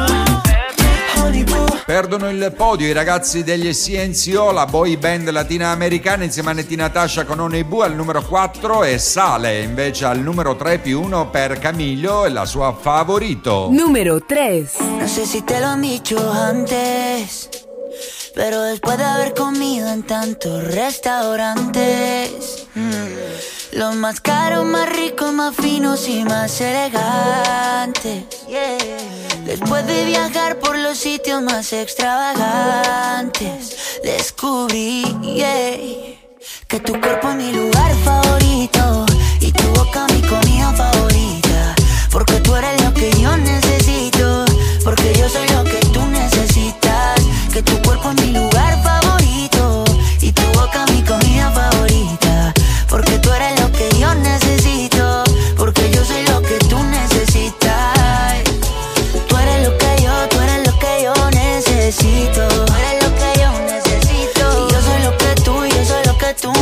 Honey boo. Perdono il podio i ragazzi degli Cienzio, la boy band latinoamericana insieme a Neti Natasha con Honey Boo al numero quattro e sale invece al numero tre più uno per Camilo e la sua Favorito. Número tres. No sé si te lo han dicho antes, pero después de haber comido en tantos restaurantes, mm, los más caros, más ricos, más finos y más elegantes, yeah. Después de viajar por los sitios más extravagantes, descubrí, yeah, que tu cuerpo es mi lugar favorito y tu boca mi comida favorita. Porque tú eres lo que yo necesito, porque yo soy lo que tú necesitas. Que tu cuerpo es mi lugar favorito y tu boca mi comida favorita. Porque tú eres lo que yo necesito, porque yo soy lo que tú necesitas. Tú eres lo que yo, tú eres lo que yo necesito. Tú eres lo que yo necesito. Y yo soy lo que tú, yo soy lo que tú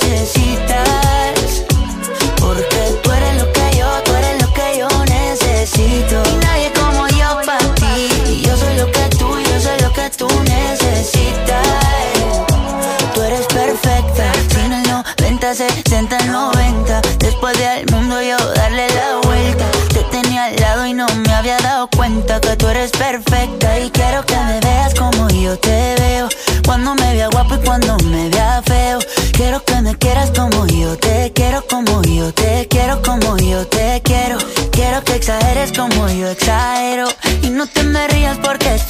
necesitas. Porque tú eres lo que yo, tú eres lo que yo necesito. Y nadie como yo pa' ti. Y yo soy lo que tú, yo soy lo que tú necesitas. Tú eres perfecta, sin el noventa, sesenta, noventa. Después de al mundo yo darle la vuelta. Te tenía al lado y no me había dado cuenta que tú eres perfecta. Y quiero que me veas como yo te veo, cuando me vea guapo y cuando me vea feo. Quiero que me quieras como yo te quiero, como yo te quiero, como yo te quiero. Quiero que exageres como yo exagero. Y no te me rías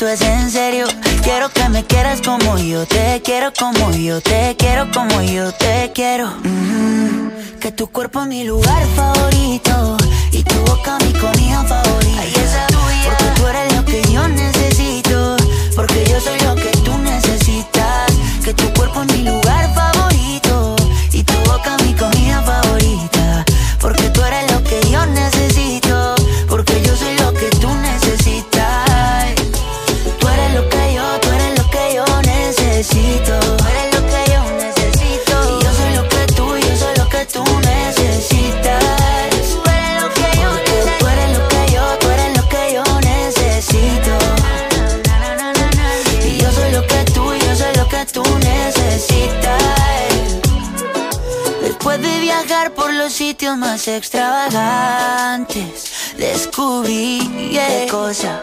esto es en serio. Quiero que me quieras como yo te quiero, como yo te quiero, como yo te quiero. Mm-hmm. Que tu cuerpo es mi lugar favorito y tu boca mi comida favorita. Ay, esa tuya. Porque tú eres lo que yo necesito, porque yo soy lo que tú necesitas. Que tu cuerpo es mi lugar favorito y tu boca mi comida favorita. Porque tú eres lo que yo necesito, porque yo soy lo que tú necesitas. Tú eres lo que yo, tú eres lo que yo necesito. Tú eres lo que yo necesito. Y yo soy lo que tú, yo soy lo que tú necesitas. Tú eres lo que yo necesito. Tú eres lo que yo, tú eres lo que yo necesito. Y yo soy lo que tú, yo soy lo que tú necesitas. Después de viajar por los sitios más extravagantes, descubrí yeah, qué cosa,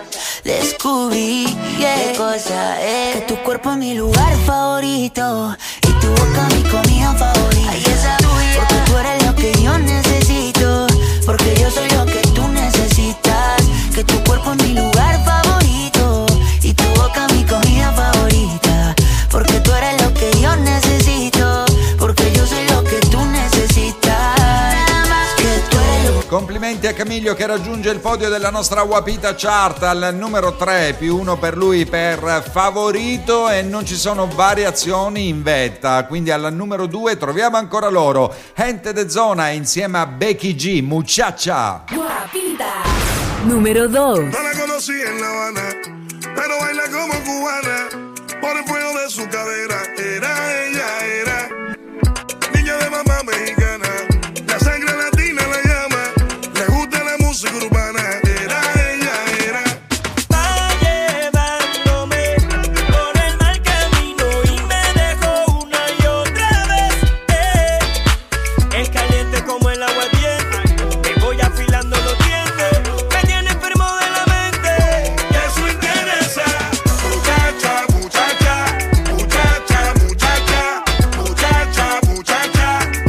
descubrí yeah, qué cosa es. Que tu cuerpo es mi lugar favorito y tu boca mi comida favorita. Ay, esa tuya. Porque tú eres lo que yo necesito, porque yo soy lo que tú necesitas. Que tu cuerpo es mi lugar favorito y tu boca mi comida favorita. Porque tú eres lo que yo necesito, porque yo soy lo que tú necesitas. Nada más que tú eres lo... Complimenti a Camillo che raggiunge il podio della nostra Wapita Chart al numero tre, più uno per lui per favorito, e non ci sono variazioni in vetta. Quindi al numero due troviamo ancora loro, Gente de Zona insieme a Becky G, Muchacha. Wapita número dos. No la conocí en La Habana, pero baila como cubana, por el fuego de su cadera. Era ella, era niña de mamá mexicana, la sangre latina la llama, le gusta la música urbana. Era ella, era. Va llevándome por el mal camino y me dejó una y otra vez. Eh. Es caliente como el agua tiene, me voy afilando los dientes, me tiene enfermo de la mente. Y eso interesa. Muchacha, muchacha, muchacha, muchacha, muchacha, muchacha.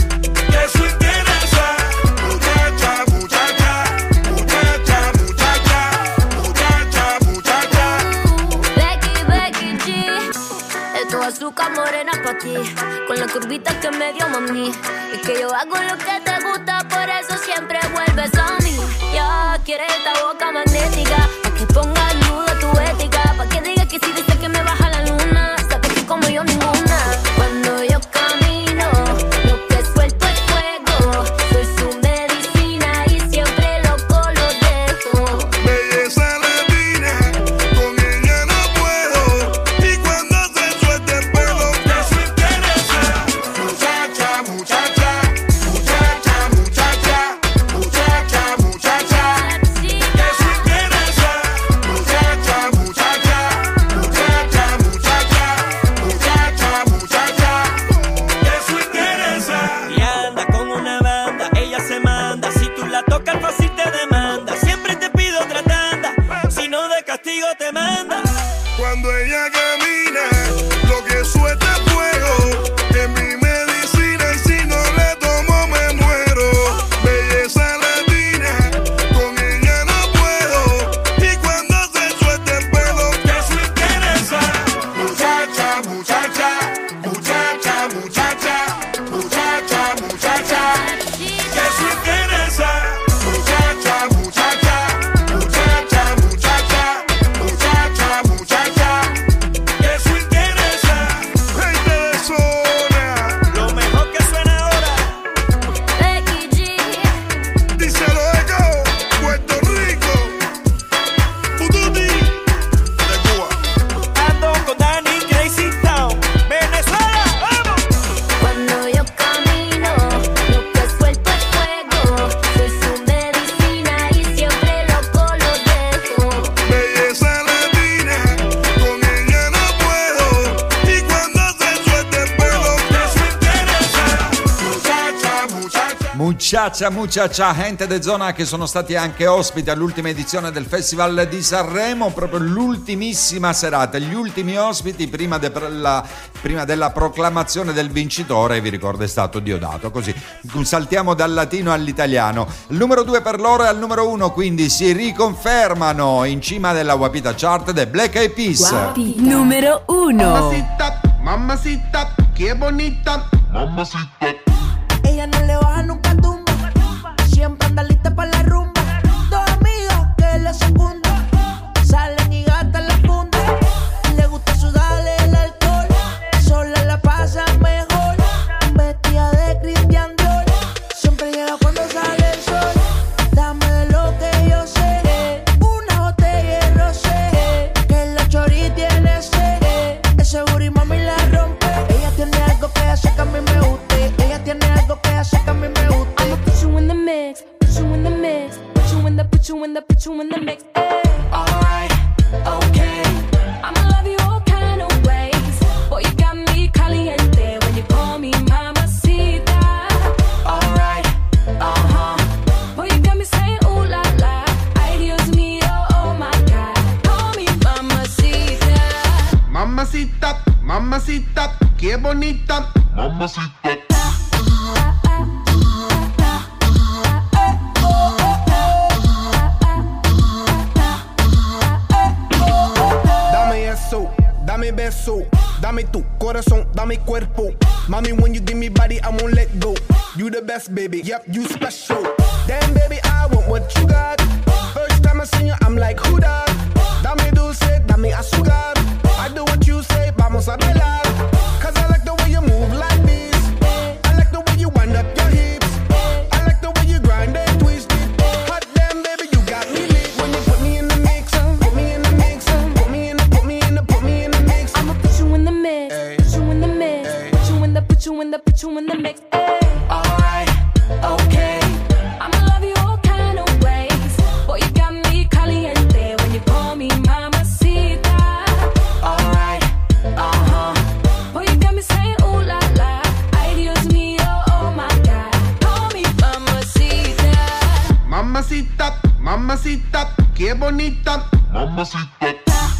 Y eso interesa. Muchacha, muchacha, muchacha, muchacha, muchacha, muchacha. Becky, Becky G, esto es azúcar morena pa' ti, con la curvita que me dio mami. Y que yo hago lo que te gusta, por eso siempre vuelves a mí. Ya quieres esta boca magnética, pa' que ponga en duda tu ética, pa' que digas que si dices que me baja la luna, sabes que como yo ninguna. Cuando yo camino, lo que suelto es fuego, soy su medicina y siempre loco lo dejo. Belleza latina, con ella no puedo. Y cuando se suelta el pelo, eso interesa. Muchacha, muchacha, muchacha, muchacha, muchacha, muchacha. Eso interesa. Muchacha, muchacha, gente de zona che sono stati anche ospiti all'ultima edizione del Festival di Sanremo, proprio l'ultimissima serata, gli ultimi ospiti prima, de la, prima della proclamazione del vincitore, vi ricordo è stato Diodato, così saltiamo dal latino all'italiano. Il numero due per loro e al numero uno quindi si riconfermano in cima della Guapita Chart The Black Eyed Peas. Guapita. Numero uno. Mamacita, mamacita, qué bonita, mamacita. Ella no le baja nunca tumba, siempre anda lista para la rumba. Dos amigas que le secundan, salen y gastan la funda. Le gusta sudarle el alcohol, sola la pasa mejor. Vestida de Christian Dior, siempre llega cuando sale el sol. Dame de lo que yo sé, una botella de rosé, que la chori tiene sed. Ese booty mami la rompe. Ella tiene algo que hace que a mí me guste. Ella tiene algo que hace que a mí me guste. I'ma put you in the mix, put you in the mix, put you in the, put you in the, put you in the mix. Alright, okay. I'ma love you all kind of ways. Boy, you got me caliente when you call me mamacita. Alright, uh-huh. Boy, you got me saying ooh la la. Ay, Dios mío, oh my God. Call me mamacita. Mamacita, mamacita, qué bonita, mamacita. Dame eso, dame beso, dame tu corazón, dame cuerpo. Mami, when you give me body, I won't let go. You the best, baby, yep, you special. Damn, baby, I want what you got. First time I seen you, I'm like, who that? Dame dulce, dame azúcar. I do what you say, vamos a bailar. Cause I like the way you move like this. I like the way you wind up your hips. I like the way you grind and twist it. Hot damn, baby, you got me lit. When you put me in the mix, put me in the mix, put me in the, put me in the, put me in the mix. I'ma put you in the mix, put you in the mix, put you in the, put you in the, put you in the mix. Alright, okay. I'ma love you all kind of ways. Boy, you got me caliente when you call me mamacita. Alright, uh-huh. Boy, you got me saying ooh la la. Ay, Dios mío, oh my God. Call me mamacita. Mamacita, mamacita, qué bonita, mamacita.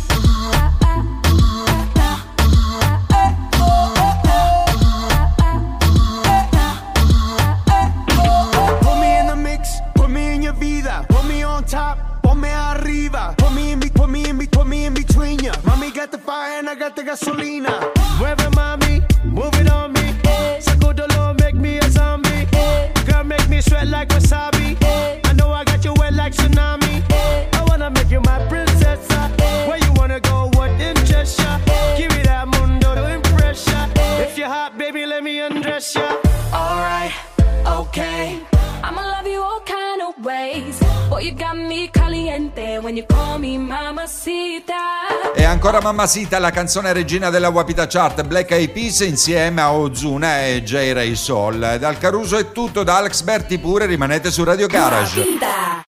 Put me in the mix, put me in your vida, put me on top, ponme arriba, put me in, be, put me in, be, put me in between ya. Mami got the fire and I got the gasolina. Mueve mami, move it on me. Sacudolo, make me a zombie. Girl, make me sweat like wasabi. I know I got you wet like tsunami. I wanna make you my princess. Where you wanna go, what interests ya? Give me that mundo to impress ya. If you're hot, baby, let me undress ya. Alright, okay. I'ma love you all kind of ways. Boy, you got me caliente when you call me mamacita. E ancora Mamacita, la canzone regina della Guapita Chart, Black Eyed Peas insieme a Ozuna e J. Ray Soul. Dal Caruso è tutto, da Alex Berti pure, rimanete su Radio Garage. Guapita.